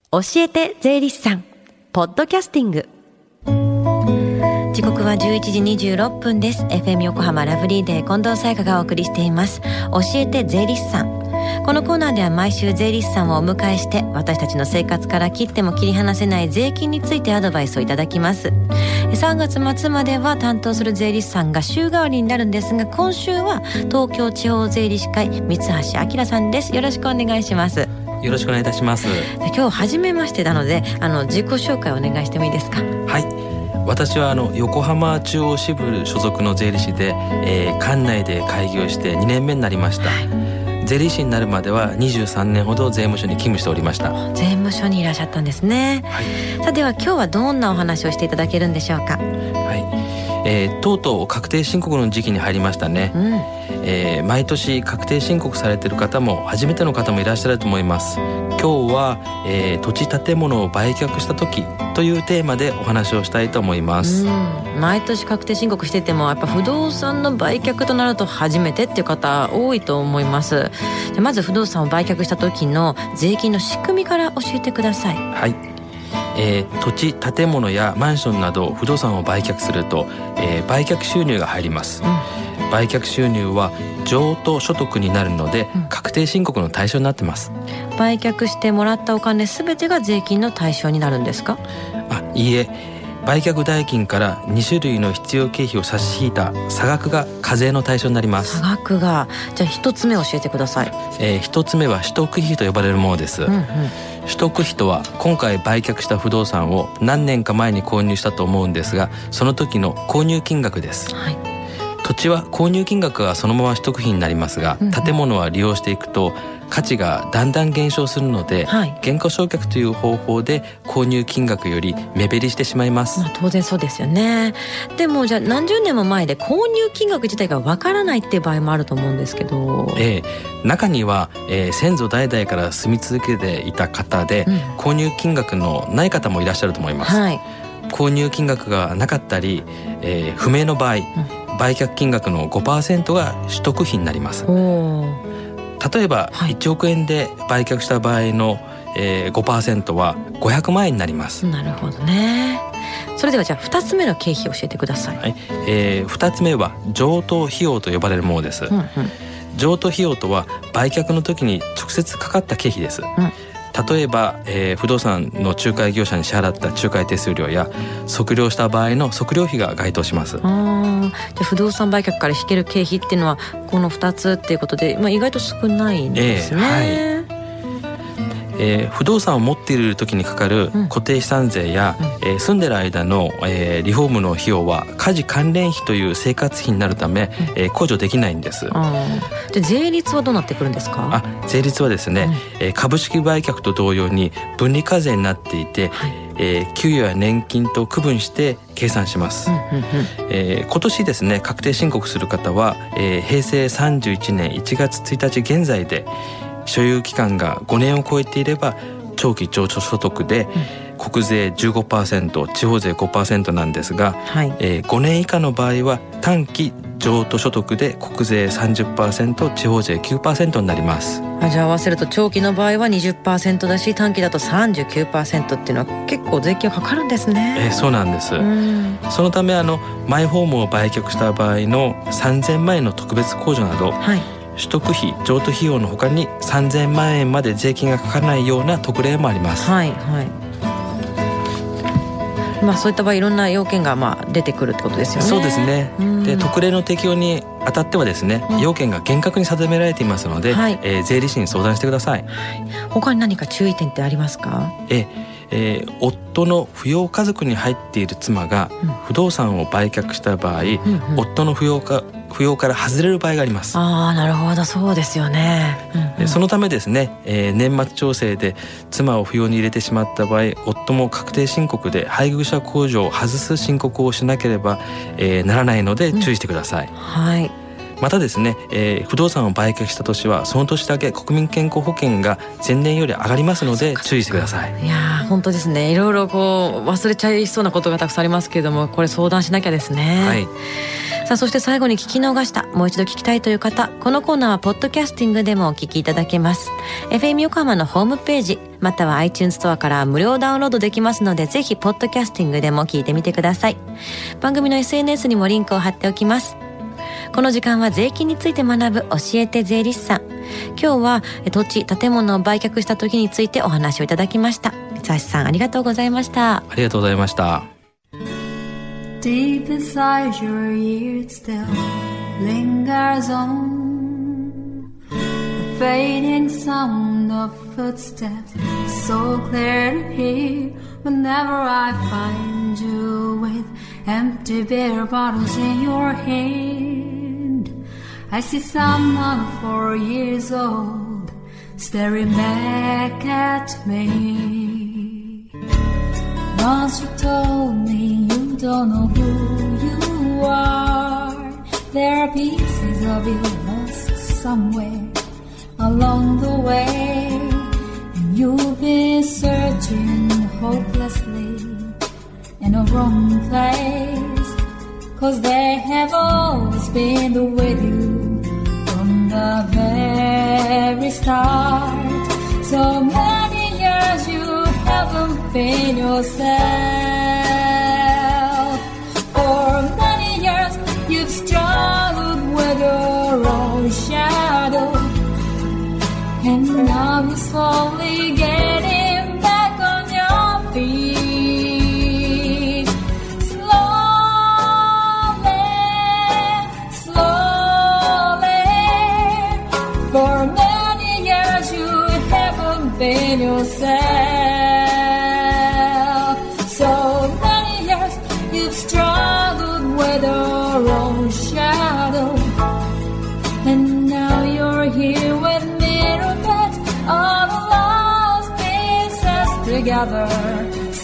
教えて税理士さんポッドキャスティング。時刻は11時26分です。 FM 横浜ラブリーデー近藤沙耶香がお送りしています。教えて税理士さん。このコーナーでは毎週税理士さんをお迎えして、私たちの生活から切っても切り離せない税金についてアドバイスをいただきます。3月末までは担当する税理士さんが週替わりになるんですが、今週は東京地方税理士会三橋明さんです。よろしくお願いします。 よろしくお願いいたします。 今日初めましてなので自己紹介をお願いしてもいいですか？ はい、私は横浜中央支部所属の税理士で、管内で開業して2年目になりました。税理士になるまでは23年ほど税務署に勤務しておりました。 税務署にいらっしゃったんですね。はい、さあでは今日はどんなお話をしていただけるんでしょうか？ はい、とうとう確定申告の時期に入りましたね。毎年確定申告されている方も初めての方もいらっしゃると思います。今日は、土地建物を売却した時というテーマでお話をしたいと思います。 毎年確定申告しててもやっぱ不動産の売却となると初めてっていう方多いと思います。じゃまず不動産を売却した時の税金の仕組みから教えてください。 はい、土地建物やマンションなど不動産を売却すると、売却収入が入ります。売却収入は譲渡所得になるので、確定申告の対象になってます。 売却してもらったお金すべてが税金の対象になるんですか？ いいえ、売却代金から2種類の必要経費を差し引いた差額が課税の対象になります。 差額が、じゃあ一つ目教えてください。 一つ目は取得費と呼ばれるものです。取得費とは今回売却した不動産を何年か前に購入したと思うんですが、その時の購入金額です。土地は購入金額がそのまま取得費になりますが、建物は利用していくと価値がだんだん減少するので、減価償却という方法で購入金額より目減りしてしまいます。 当然そうですよね。でもじゃあ何十年も前で購入金額自体がわからないっていう場合もあると思うんですけど、 中には、先祖代々から住み続けていた方で、購入金額のない方もいらっしゃると思います。購入金額がなかったり、不明の場合、売却金額の 5% が取得費になります。例えば、1億円で売却した場合の、5% は500万円になります。 なるほどね。それではじゃあ2つ目の経費を教えてください。 2つ目は譲渡費用と呼ばれるものです。譲渡費用とは売却の時に直接かかった経費です。例えば、不動産の仲介業者に支払った仲介手数料や測量した場合の測量費が該当します。 じゃあ不動産売却から引ける経費っていうのはこの2つっていうことで、意外と少ないんですね。 不動産を持っている時にかかる固定資産税や、住んでる間の、リフォームの費用は家事関連費という生活費になるため、控除できないんです。 じゃあ税率はどうなってくるんですか？ 税率はですね、株式売却と同様に分離課税になっていて、給与や年金と区分して計算します。今年ですね、確定申告する方は、平成31年1月1日現在で所有期間が5年を超えていれば長期譲渡所得で、国税 15%、地方税 5% なんですが、5年以下の場合は短期譲渡所得で国税 30%、地方税 9% になります。 じゃあ合わせると長期の場合は 20% だし、短期だと 39% っていうのは結構税金かかるんですね。 そうなんです。そのためマイホームを売却した場合の3000万円の特別控除など、取得費、譲渡費用の他に3000万円まで税金がかからないような特例もあります。 そういった場合いろんな要件が出てくるってことですよね。 そうですね。で、特例の適用にあたってはですね、要件が厳格に定められていますので、税理士に相談してください。 他に何か注意点ってありますか？ 夫の扶養家族に入っている妻が不動産を売却した場合、夫の扶養から外れる場合があります。 なるほど、そうですよね。 そのためですね、年末調整で妻を扶養に入れてしまった場合、夫も確定申告で配偶者控除を外す申告をしなければ、ならないので注意してください。 またですね、不動産を売却した年はその年だけ国民健康保険が前年より上がりますので注意してください。 いや本当ですね。いろいろこう忘れちゃいそうなことがたくさんありますけれども、これ相談しなきゃですね。 はい。 さあそして最後に聞き逃した、もう一度聞きたいという方、このコーナーはポッドキャスティングでもお聞きいただけます。 FM 横浜のホームページまたは iTunes ストアから無料ダウンロードできますので、ぜひポッドキャスティングでも聞いてみてください。番組の SNS にもリンクを貼っておきます。この時間は税金について学ぶ教えて税理士さん。今日は土地建物を売却した時についてお話をいただきました。三橋さんありがとうございました。 ありがとうございました。 Deep inside your ear it still lingers on, the fading sound of footsteps so clear to hear. Whenever I find you with empty beer bottles in your hand, I see someone 4 years old staring back at me. Once you told me you don't know who you are, there are pieces of you lost somewhere along the way, and you've been searching hopelessly in a wrong place, 'cause they have always been with you from the very start. So many years you haven't been yourself. For many years you've struggled with your own shadow, and now you're slowly getting back on your feet. Slowly, slowly. For many years you haven't been yourself. So many years you've struggled with your own shadow, and now you're here with me to put all the lost pieces together.